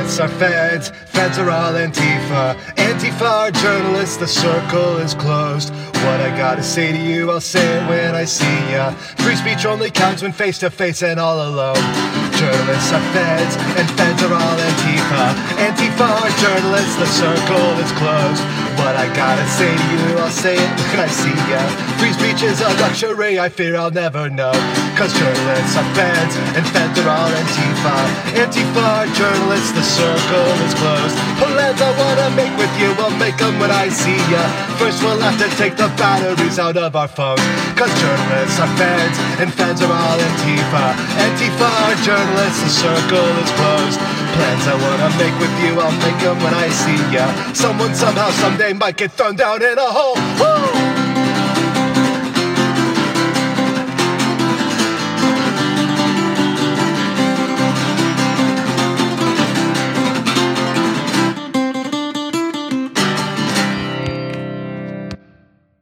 Journalists are feds, feds are all Antifa. Antifa are journalists, the circle is closed. What I gotta say to you, I'll say it when I see ya. Free speech only counts when face to face and all alone. Journalists are feds, and feds are all Antifa. Antifa are journalists, the circle is closed. What I gotta say to you, I'll say it when I see ya. Free speech is a luxury I fear I'll never know. Cause journalists are feds, and feds are all Antifa. Antifa are journalists, the circle is closed. Plans I wanna make with you, I'll make them when I see ya. First we'll have to take the batteries out of our phones. Cause journalists are feds, and feds are all Antifa. Antifa are journalists, the circle is closed. Plans I wanna make with you, I'll make them when I see ya. Someone somehow someday might get thrown down in a hole. Woo!